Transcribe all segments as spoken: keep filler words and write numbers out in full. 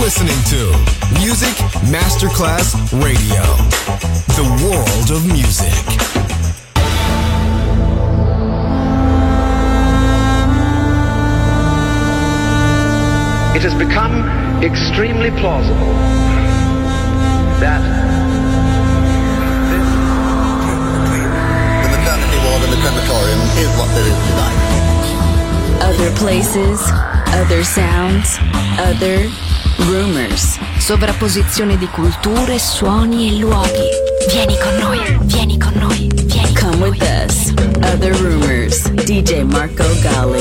listening to Music Masterclass Radio, the world of music. It has become extremely plausible that this the maternity ward in the crematorium is what there is tonight. Other places, other sounds, other rumors. Sovrapposizione di culture, suoni e luoghi. Vieni con noi, vieni con noi, vieni con Come with us. Other Rumors. D J Marco Gally.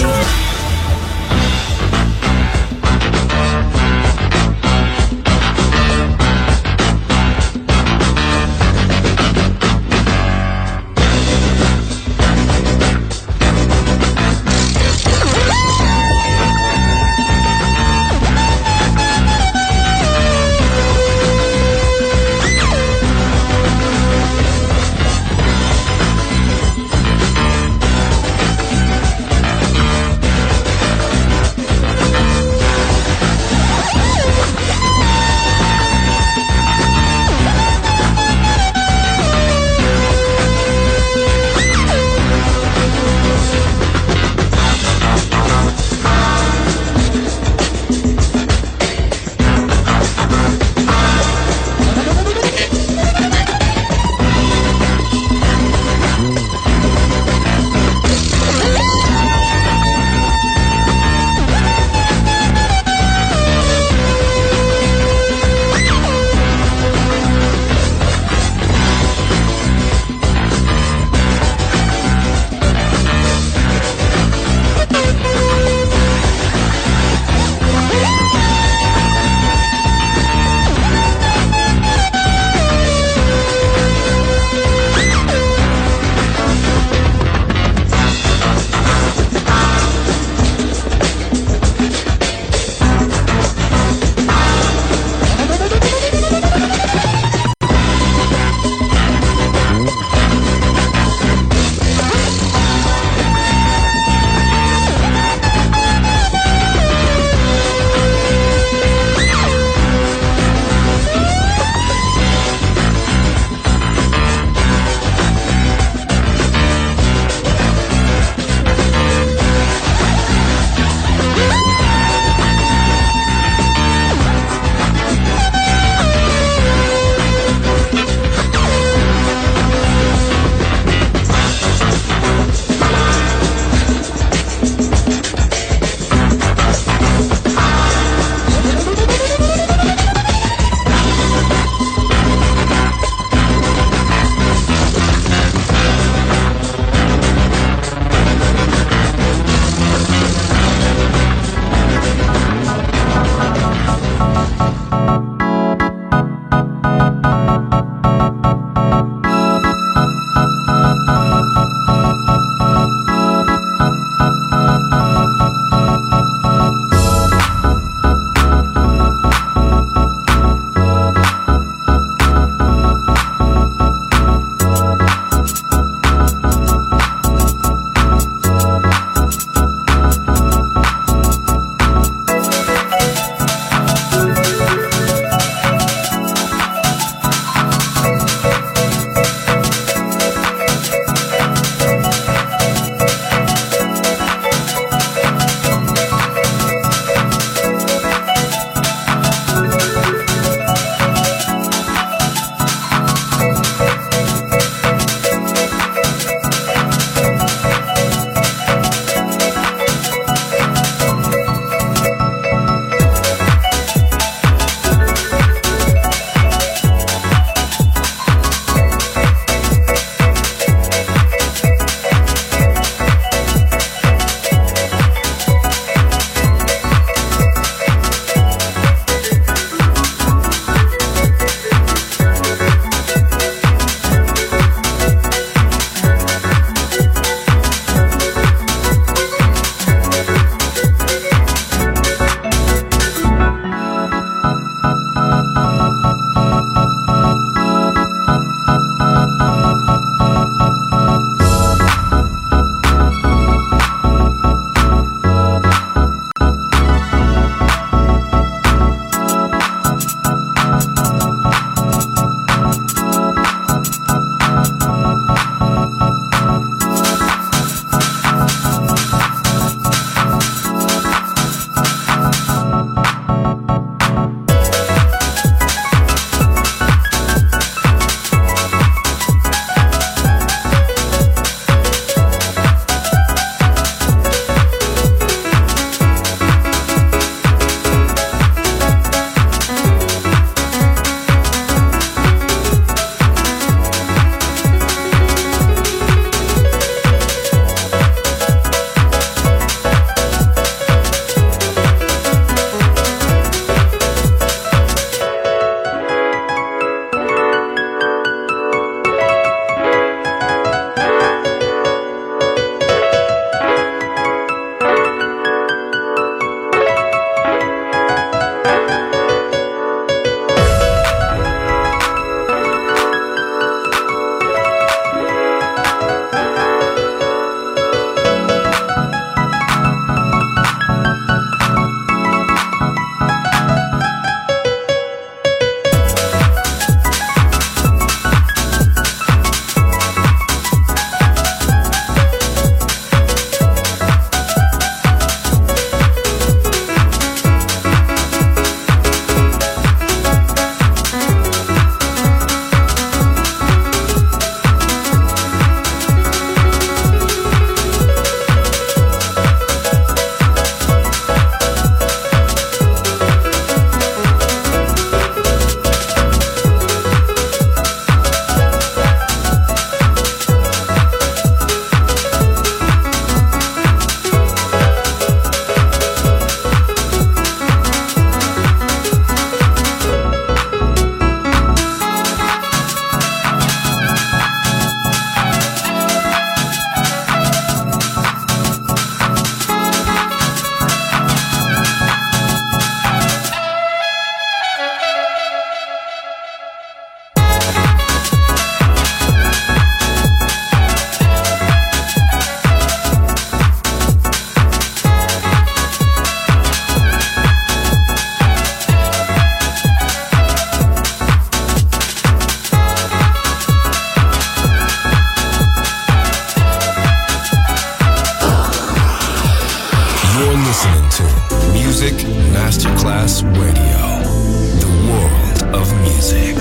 Masterclass Radio, the world of music.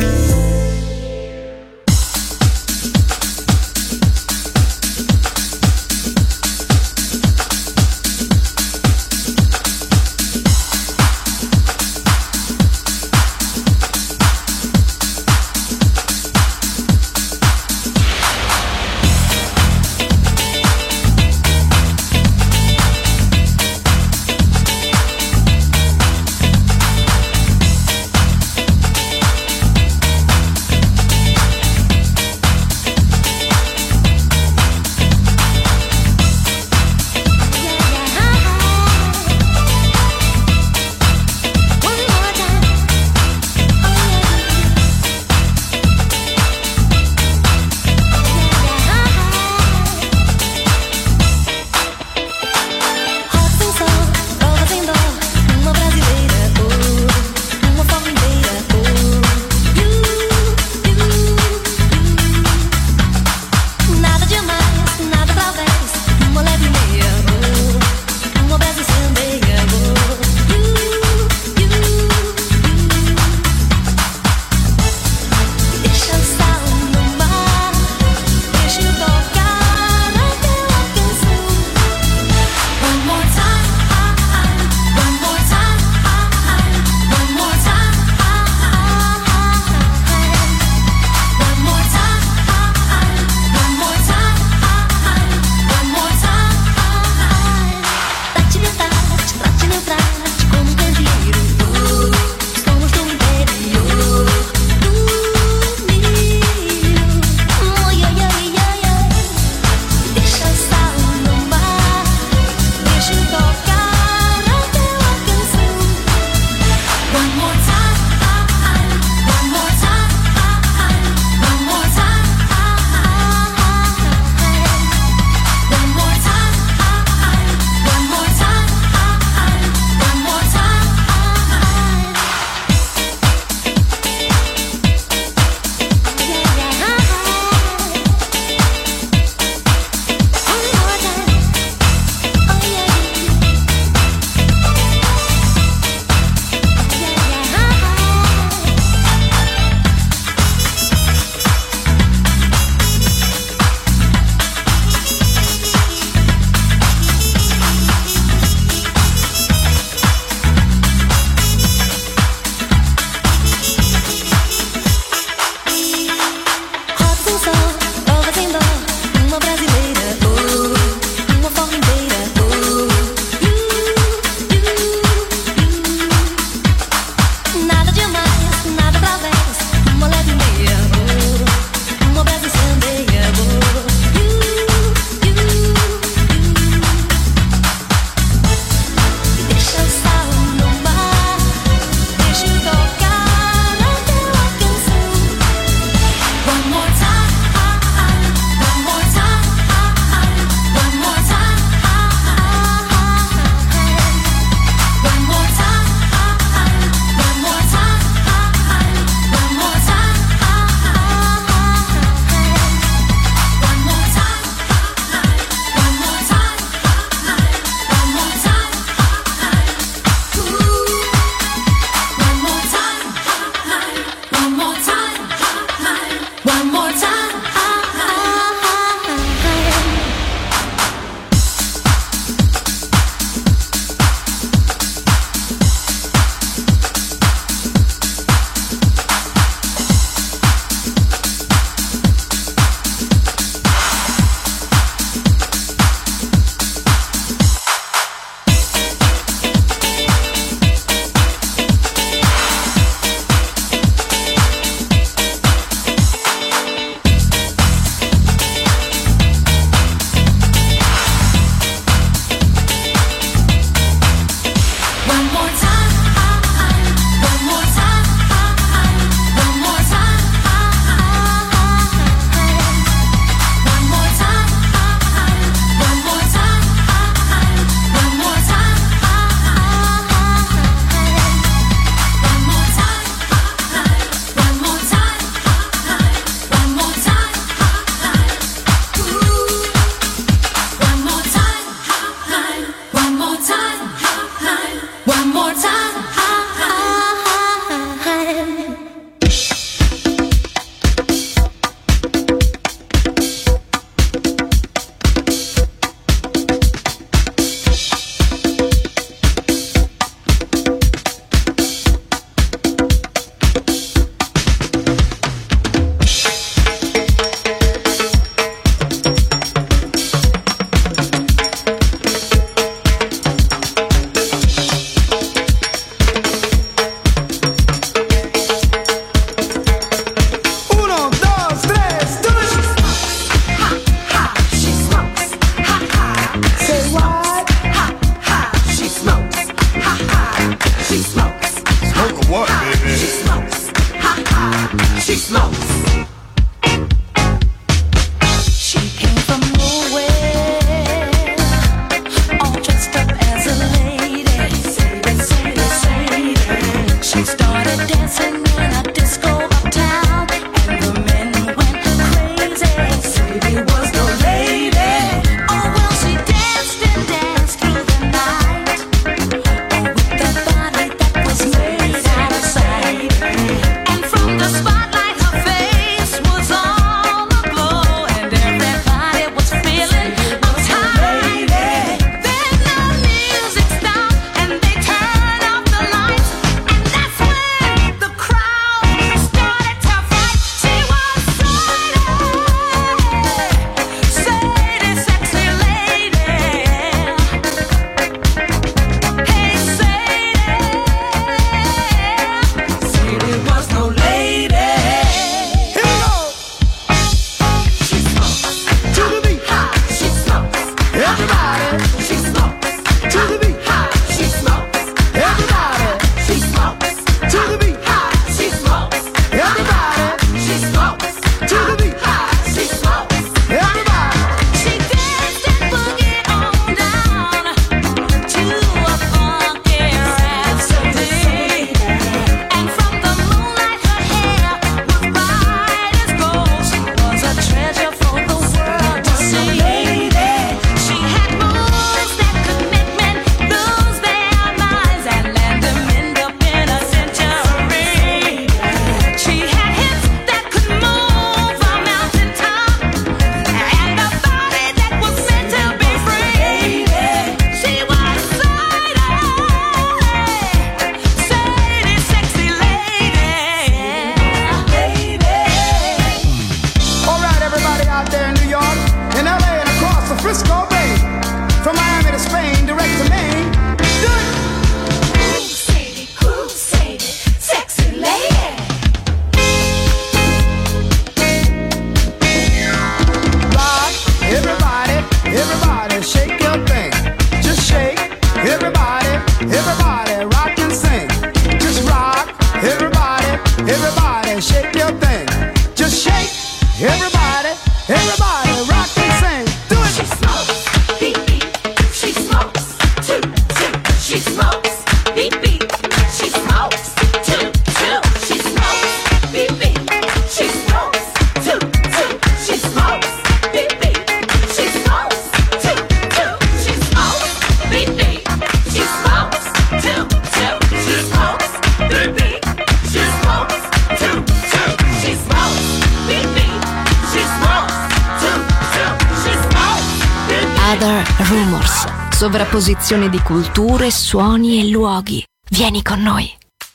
rumors, sovrapposizione di culture, suoni e luoghi. Vieni con noi.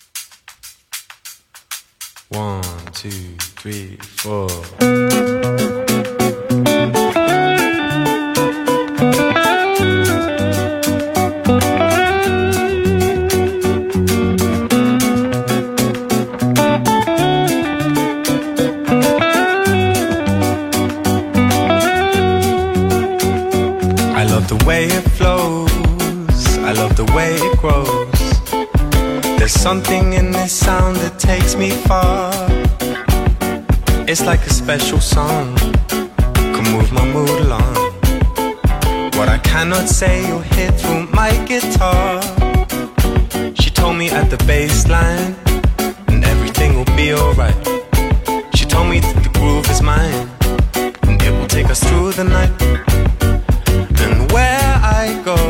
One, two, three, four. The way it flows, I love the way it grows. There's something in this sound that takes me far. It's like a special song, can move my mood along. What I cannot say you'll hear through my guitar. She told me at the bass line, and everything will be alright. She told me that the groove is mine, and it will take us through the night. And where I go,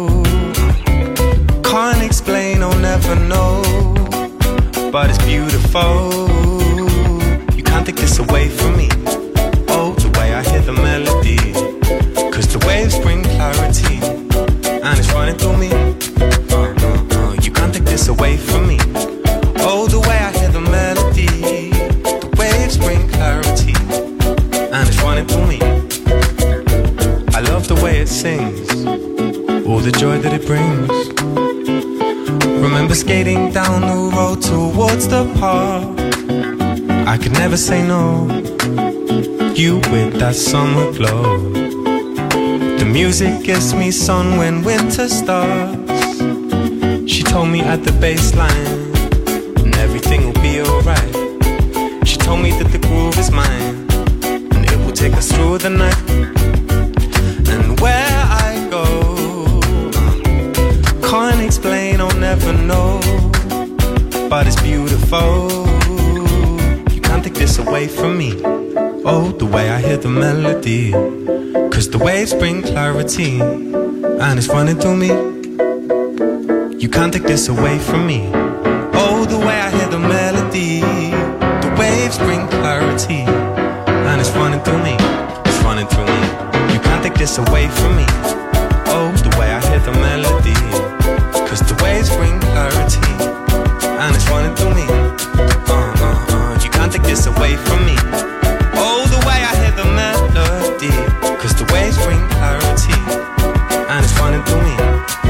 can't explain, I'll never know, but it's beautiful. You can't take this away from me. Oh, the way I hear the melody, cause the waves bring clarity, and it's running through me. uh, uh, uh, You can't take this away from me. Oh, the way I hear the melody, the waves bring clarity, and it's running through me. I love the way it sings, all the joy that it brings. Remember skating down the road towards the park. I could never say no, you with that summer glow. The music gives me sun when winter starts. She told me at the bass line, and everything will be alright. She told me that the groove is mine, and it will take us through the night. And where I go, can't explain, I'll never know, but it's beautiful. You can't take this away from me. Oh, the way I hear the melody, cause the waves bring clarity, and it's running through me. You can't take this away from me. Oh, the way I hear the melody, the waves bring clarity, and it's running through me. It's running through me. You can't take this away from me. Oh, the way I hear the melody, cause the waves bring clarity, and it's running through me. uh, uh, uh. You can't take this away from me. Oh, the way I hear the melody, cause the waves bring clarity, and it's running through me.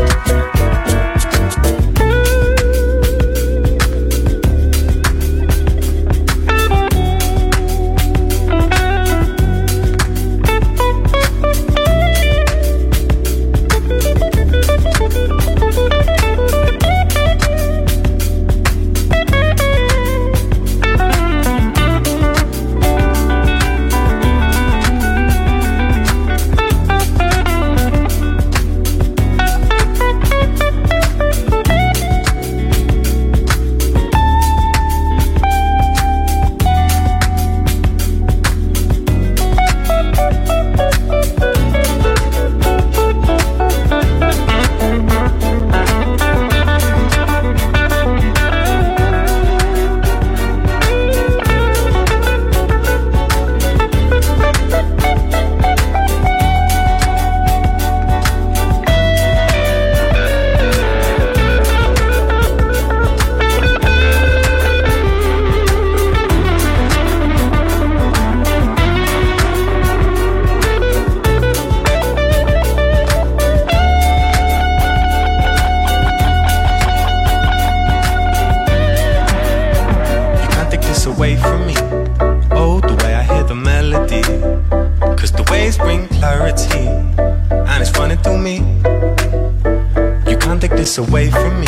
Away from me.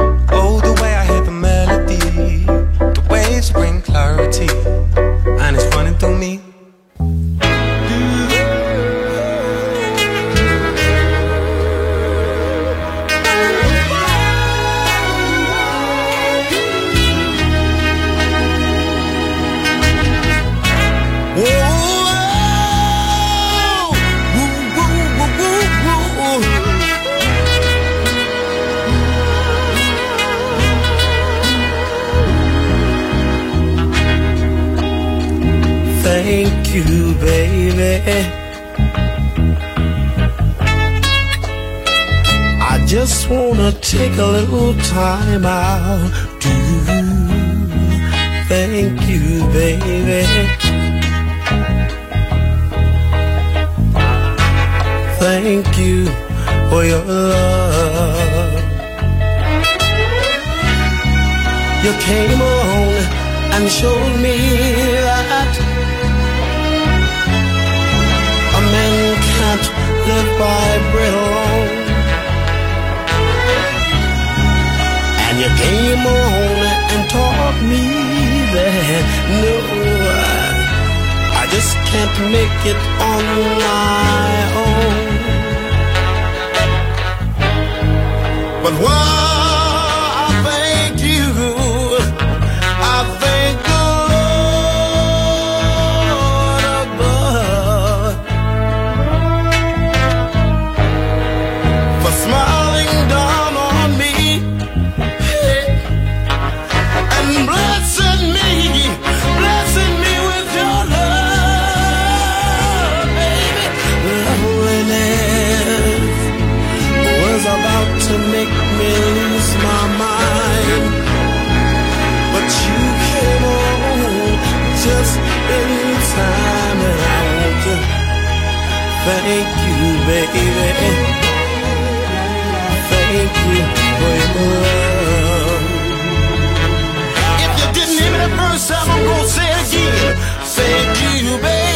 Oh, the way I hear the melody, the waves bring clarity, and it's running through me. Thank you, baby. just wanna take a little time out to thank you, baby. Thank you for your love. You came along and showed me that a man can't live by bread alone. And you came along and taught me that no, I, I just can't make it on my own. But why? To make me lose my mind, but you came on just in time, and I want to thank you, baby. Thank you for your love. If you didn't hear me the first time, I'm gonna say it again. Thank you, baby.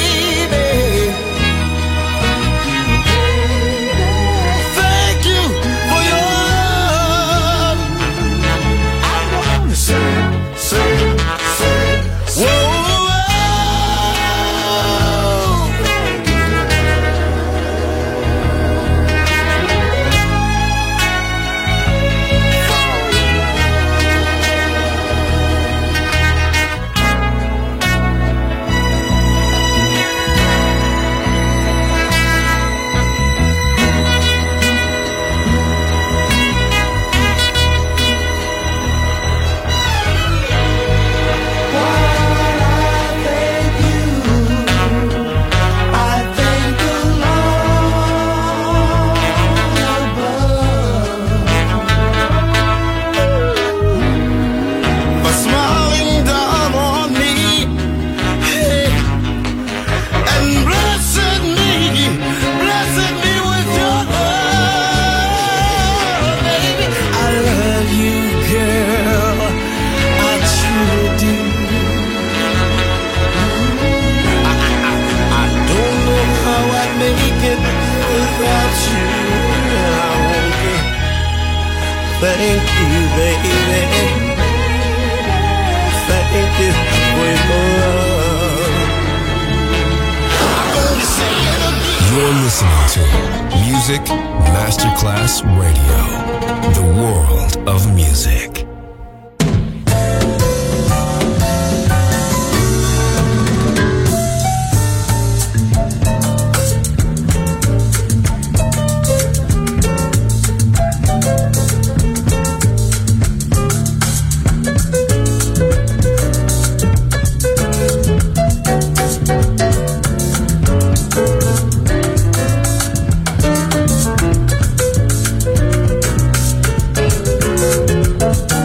Thank you, baby. Thank you for your love. I'm gonna say it again. You're listening to Music Masterclass Radio, the world of music. We'll be right back.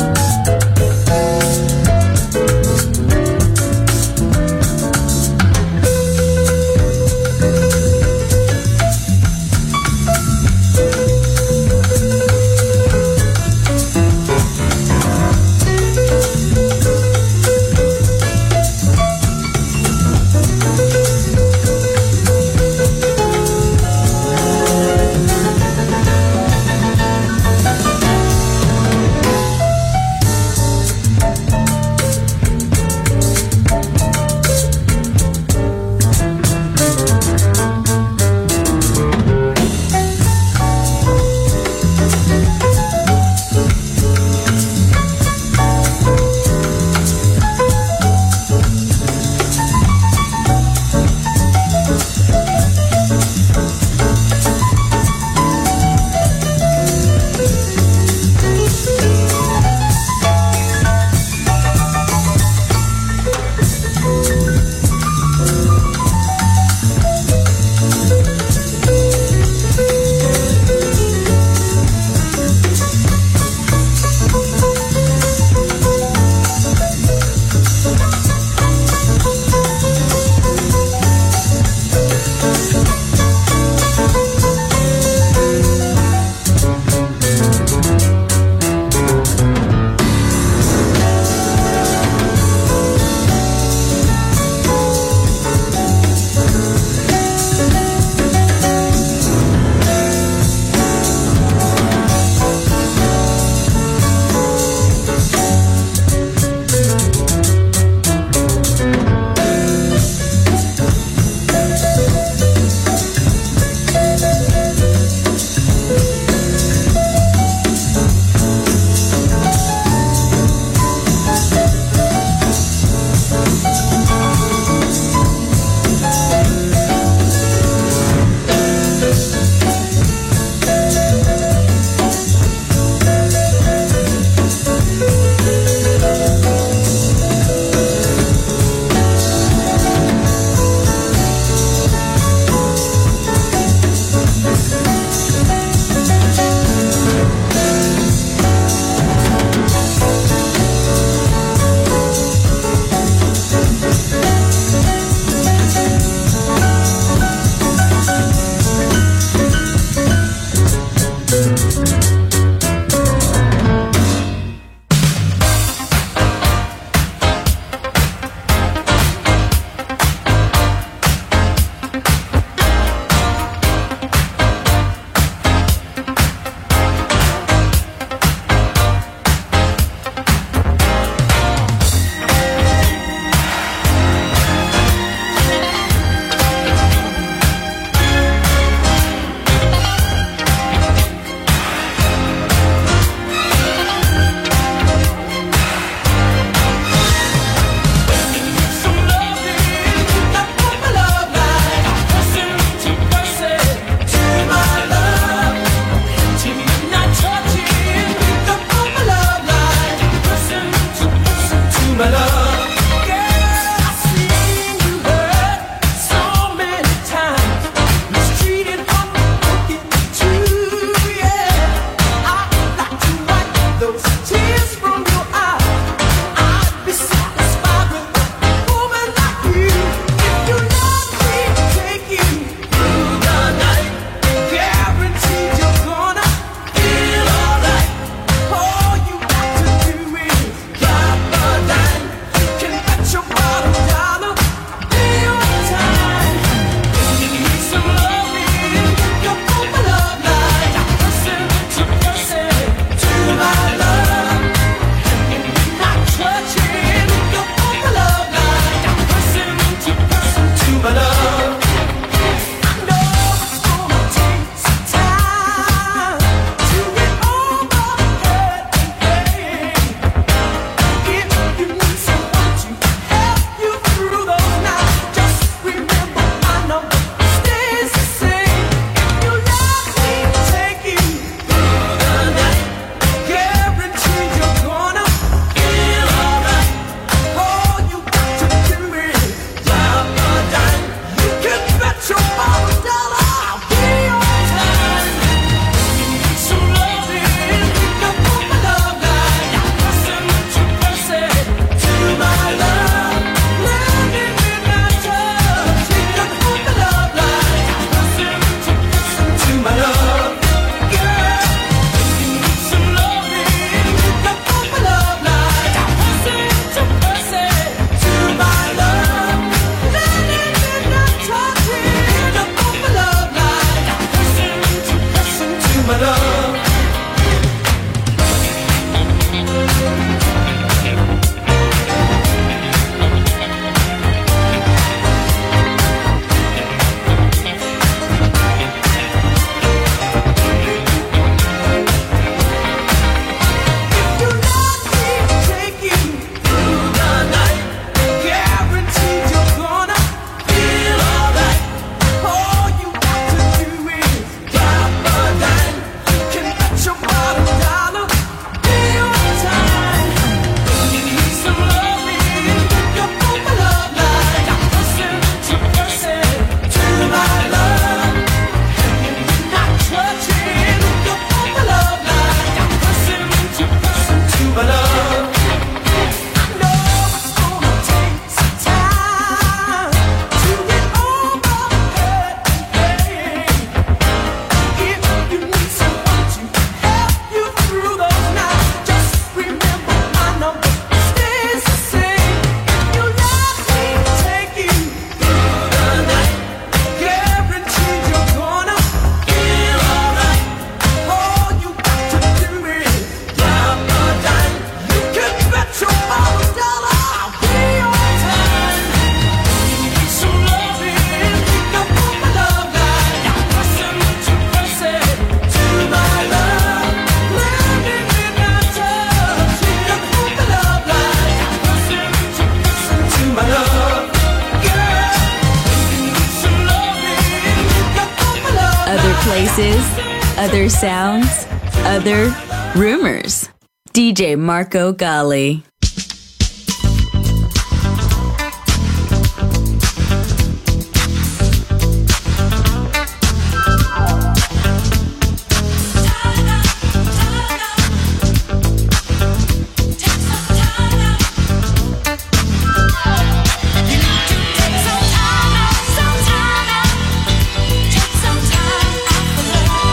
Other sounds, other rumors. D J Marco Gally.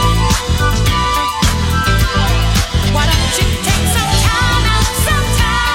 Why don't you take some time out, some time?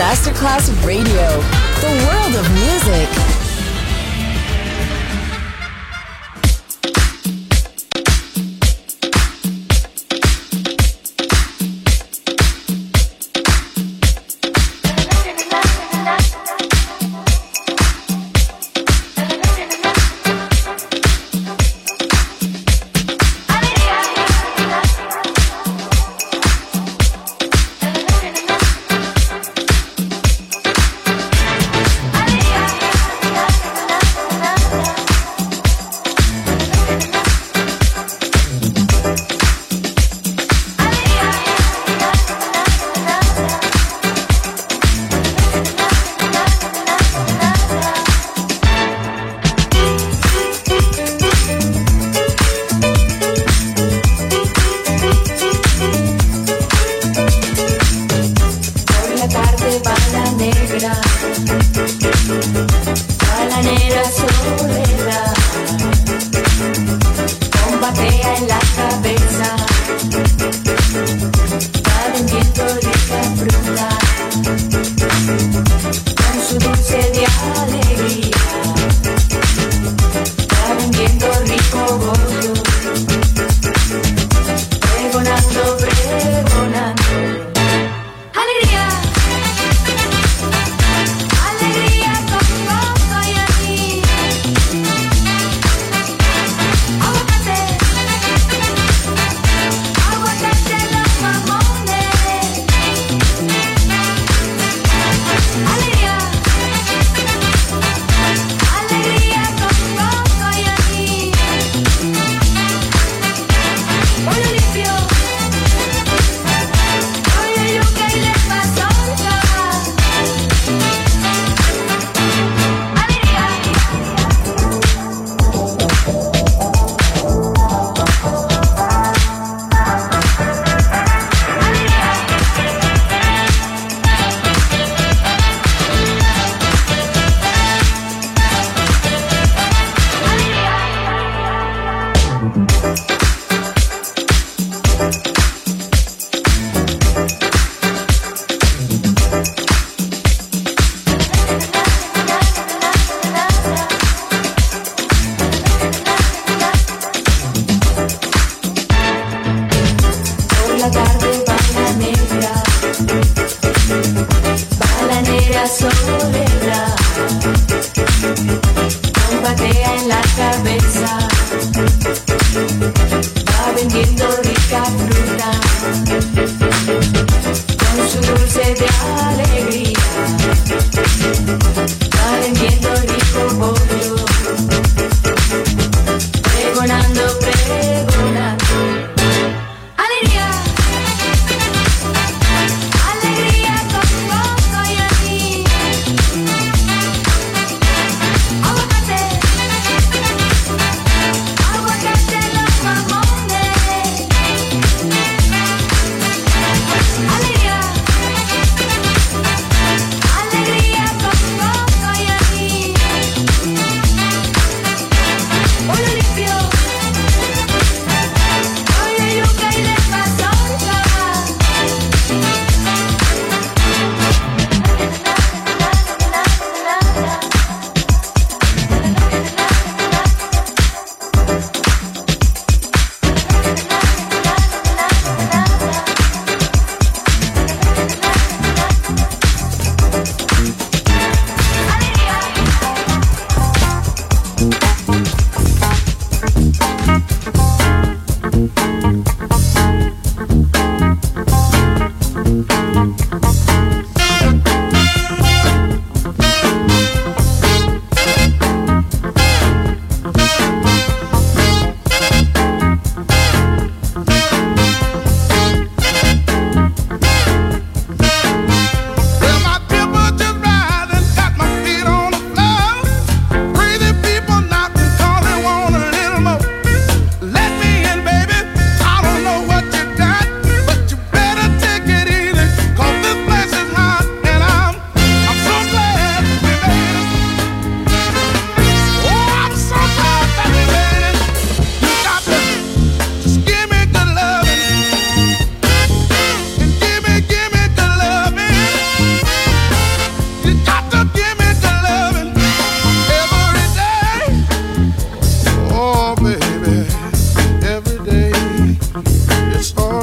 Masterclass Radio, the world of music.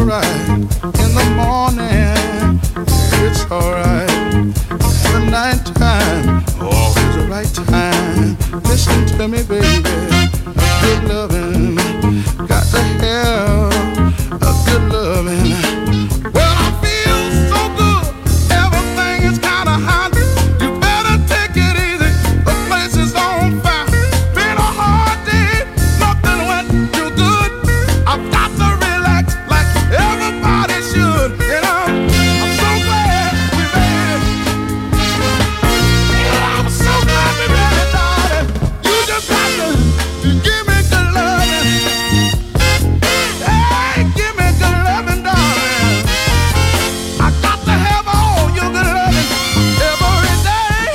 alright. In the morning, it's alright. The night time, always the right time. Listen to me, baby. A good loving, got to have a good loving. Well, I feel so good. Everything is kinda hot. You better take it easy. The place is on fire. Been a hard day, nothing went too good. I've got to relax like everybody should. You know, I'm so glad we made it. I'm so glad we made it, darling. You just got to give me good loving. Hey, give me good loving, darling. I got to have all your good loving every day.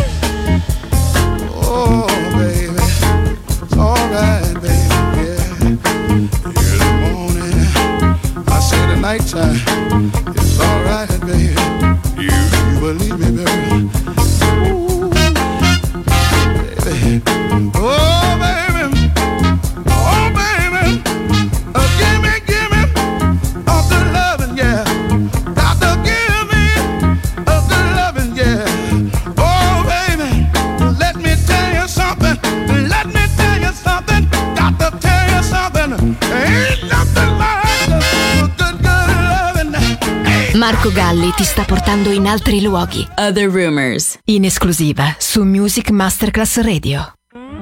Oh, baby, it's alright, baby, yeah. In the morning, I say the nighttime, it's alright, baby. You, you believe me, baby. Ooh, baby. Oh, baby. Oh, baby. Uh, give me, give me a good loving, yeah. Got to give me a good loving, yeah. Oh, baby. Let me tell you something. Let me tell you something. Got to tell you something. Ain't nothing like a good, good loving. Hey. Marco Galli ti sta portando in altri luoghi. Other Rumors, in esclusiva su Music Masterclass Radio.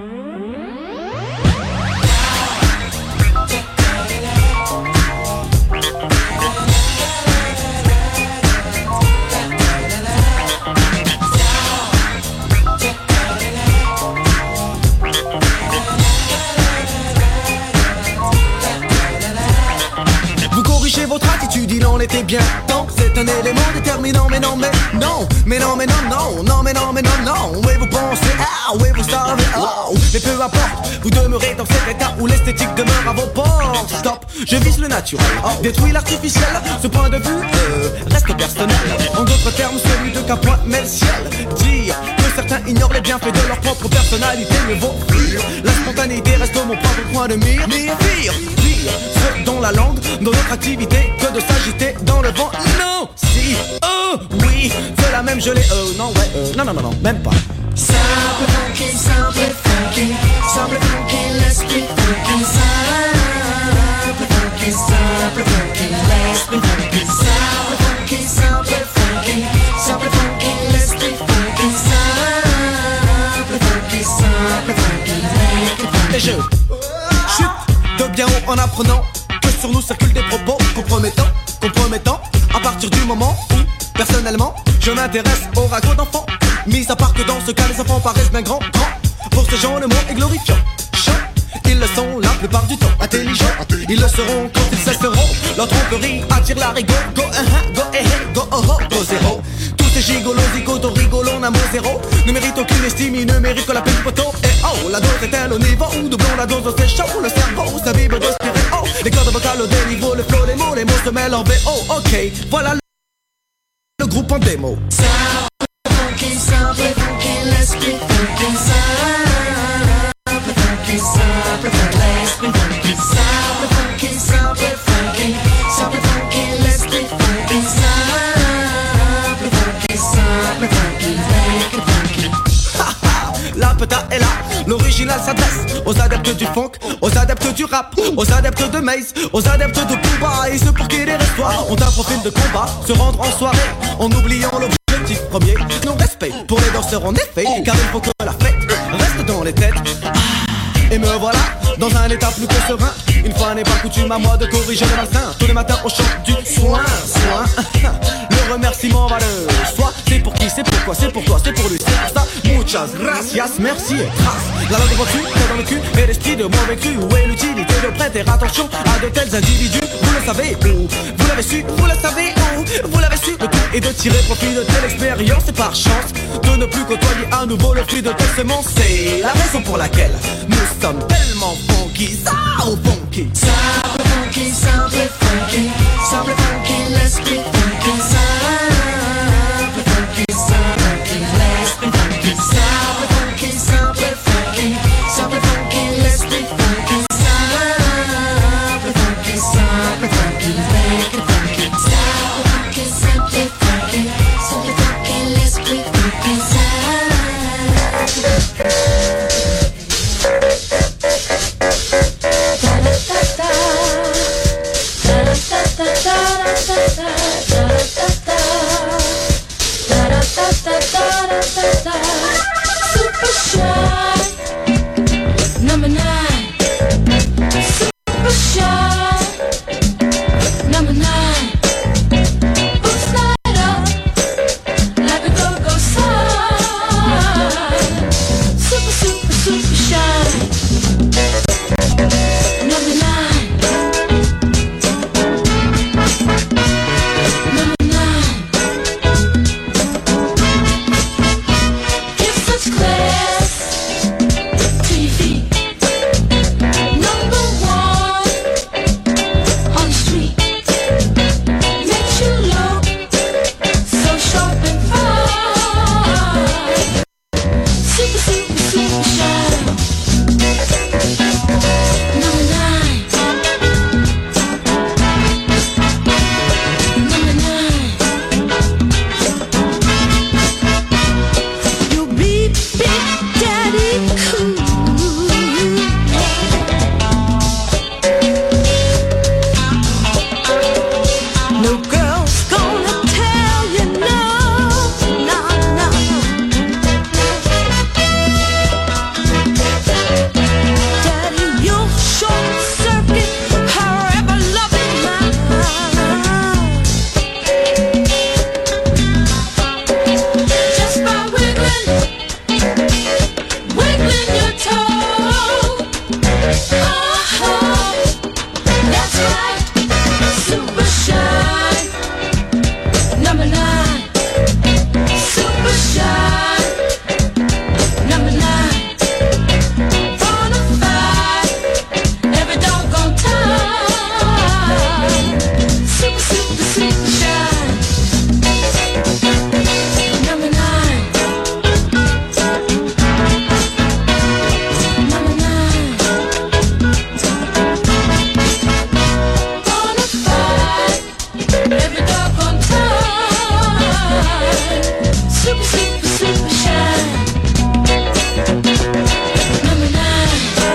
Vous corrigez votre attitude, il en était bien temps. C'est un élément déterminant, mais non, mais non. Mais non, mais non, non, non, mais non, mais non, non. Oui, vous pensez, ah, oui, vous savez, oh. Mais peu importe, vous demeurez dans cet état où l'esthétique demeure à vos portes. Stop, je vise le naturel, détruis l'artificiel. Ce point de vue euh, reste personnel. En d'autres termes, celui de qu'un point met le ciel. Dire que certains ignorent les bienfaits de leur propre personnalité, mieux vaut fuir. La spontanéité reste mon propre point de mire. Mire, pire, pire, ce dont la langue, dans notre activité, que de s'agiter dans le vent. Non, si, oh, oui, c'est la même gelée. Euh, non, ouais, euh, non, non, non, non, même pas. Simple funky, simple funky, simple funky, let's be funky. Simple funky, simple funky, let's be funky. Simple funky, simple funky, simple funky, let's be funky. Simple funky, simple funky, make it funky. Et je chute de bien haut en apprenant que sur nous circulent des propos compromettants, compromettants. À partir du moment où, personnellement, je m'intéresse au ragot d'enfants. Mis à part que dans ce cas, les enfants paraissent bien grands, grands. Pour ces gens, le mot est glorifiant. Chant, ils le sont la plupart du temps. Intelligents, ils le seront quand ils cesseront. Leur tromperie attire la rigo. Go, uh, uh, go, eh, eh, go, oh, oh, go, zéro. Tous ces gigolos, zigotos, rigolos, n'a mot zéro. Ne méritent aucune estime, ils ne méritent que la peine du poteau. Et oh, la dose est-elle au niveau où doublons la dose, c'est chaud. Le cerveau, ça vibre de stéréo. Les cordes vocales au déniveau, le flow, les mots, les mots se mêlent en V O. Ok, voilà le, le groupe en démo. Funky, simple funky, let's be funky. Simple funky, simple funky, let's be funky. Simple funky, simple funky, simple funky, let's be funky. Simple funky, simple funky, make it funky. La peta est là, l'original s'adresse aux adeptes du funk, aux adeptes du rap, aux adeptes de Maze, aux adeptes de Booba et ceux pour qui les restoirs ont un profil de combat, se rendre en soirée en oubliant l'objectif premier. Non-respect pour les danseurs en effet, car il faut que la fête reste dans les têtes. Et me voilà dans un état plus que serein. Une fois n'est pas coutume à moi de corriger le malsain. Tous les matins au chant du soin, soin. Le remerciement va le soi. C'est pour qui, c'est pourquoi, c'est pour toi, c'est pour lui, c'est pour ça. Muchas gracias, merci et grâce. La langue reçue, c'est dans le cul et l'esprit de mauvais cru. Où est l'utilité de prêter attention à de tels individus? Vous le savez où? Vous l'avez su, vous le savez où? Vous l'avez su, le tout est de tirer profit de telle expérience. Et par chance de ne plus côtoyer à nouveau le fruit de telle semence. C'est la raison pour laquelle nous sommes tellement funky, ça au funky. Simple funky, simple funky, simple funky, let's be funky. Simple funky, simple funky, let's be funky. Simple funky, simple funky, simple funky, let's be funky. Simple funky, simple funky, make it funky. Super shy, number nine. Super shy, number nine. Boots light up like a go-go sign. Super, super, super shy, number nine. Number nine. Give such class to your feet. Number one on the street. Makes you look so sharp and fine. Super, super, super shy. Number nine. Number nine. You beat Big Daddy cool. No girl's gonna tell you no, no, no. Daddy, you'll short circuit her ever-loving mind. Just by wiggling, wiggling your toe. Uh-huh, that's right, super shy. Number nine, super shy. Number nine, bonafide, every doggone time. Super, super, super shy. Number nine. Number nine. Bonafide, every doggone time. Super, super, super shy. Number nine.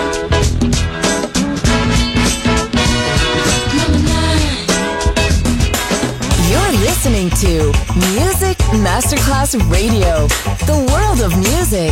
Number nine. You're listening to Music Masterclass Radio, the world of music.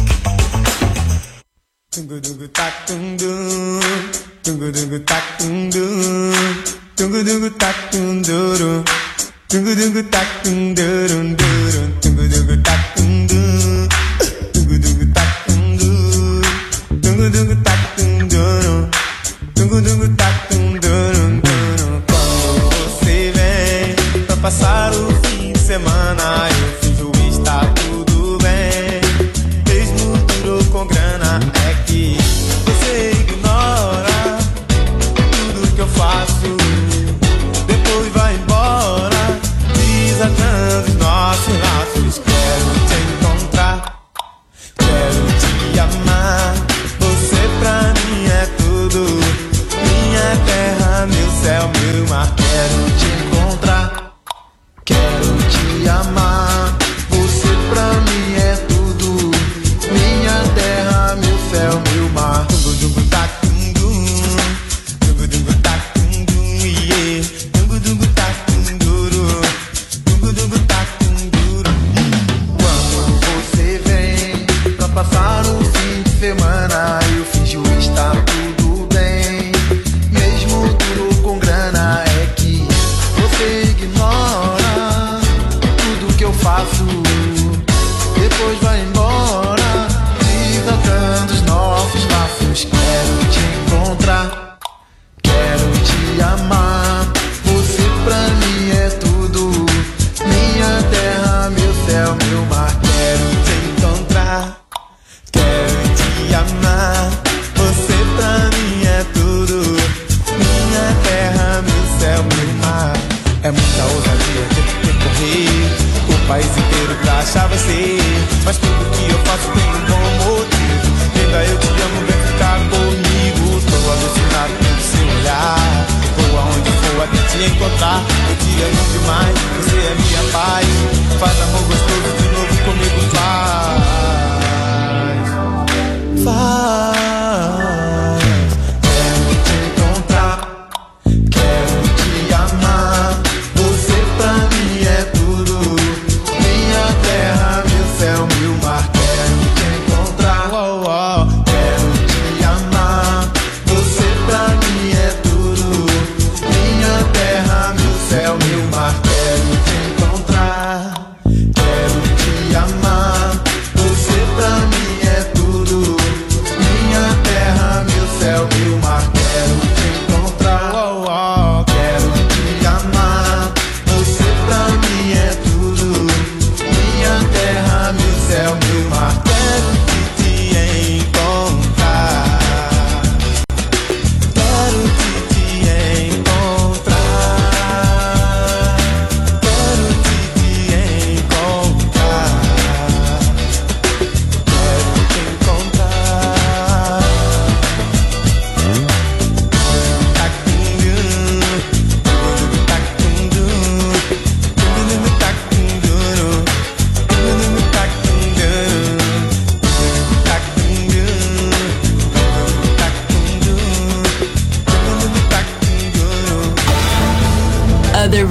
Dungu dungu tak dung dung, dungu dungu tak dung dung, dungu dungu tak dung dung, dungu dungu tak dung dung, dungu dungu tak dung dung, dungu dungu tak dung dung, dungu dungu tak dung dung, dungu dungu tak dung dung. Quando você vem pra passar o fim de semana, eu finjo estar tudo bem, mesmo duro com grana. É que você ignora tudo que eu faço, depois vai embora, desatando os nossos laços. Quero te encontrar, quero te amar, você pra mim é tudo, minha terra, meu céu, meu mar. Quero te encontrar, quero te amar, você pra mim é tudo, minha terra, meu céu, meu mar. Dungu dungu tak dung dung, dungu dungu tak dung dung, yeah. Dungu dungu tak dung duro, dungu dungu tak dung duro. Quando você vem pra passar o fim de semana, eu finjo estar tudo bem, mesmo duro com grana. É que você ignora tudo que eu faço, depois vai embora, desatando os nossos laços. Quero te encontrar, quero te amar, você pra mim é tudo, minha terra, meu céu, meu mar. Quero te encontrar, quero te amar, você pra mim é tudo, minha terra, meu céu, meu mar. É muita ousadia ter que percorrer o país inteiro pra achar você, mas tudo que eu faço tem um bom motivo. Ainda eu te amo, vem ficar comigo. Estou alucinado pelo seu olhar, vou aonde for até te encontrar. Eu te amo demais, você é minha paz. Faz amor gostoso de novo comigo, faz, faz. Quero te encontrar, quero te amar,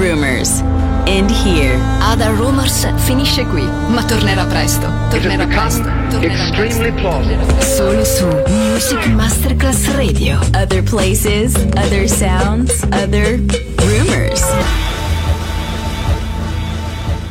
rumors. And here, Other Rumors finisce qui, ma tornerà presto. Tornerà presto. Tornerà presto. Solo su Music Masterclass Radio. Other places, other sounds, other rumors.